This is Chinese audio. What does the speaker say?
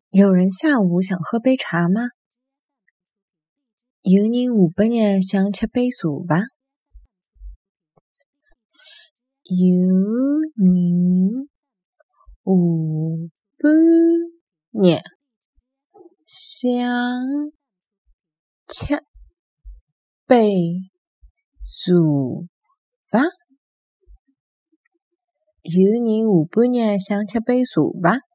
有人下午想喝杯茶吗？有人下半日想吃杯茶伐？有人下半日想吃杯茶伐？有人下半日想吃杯茶伐？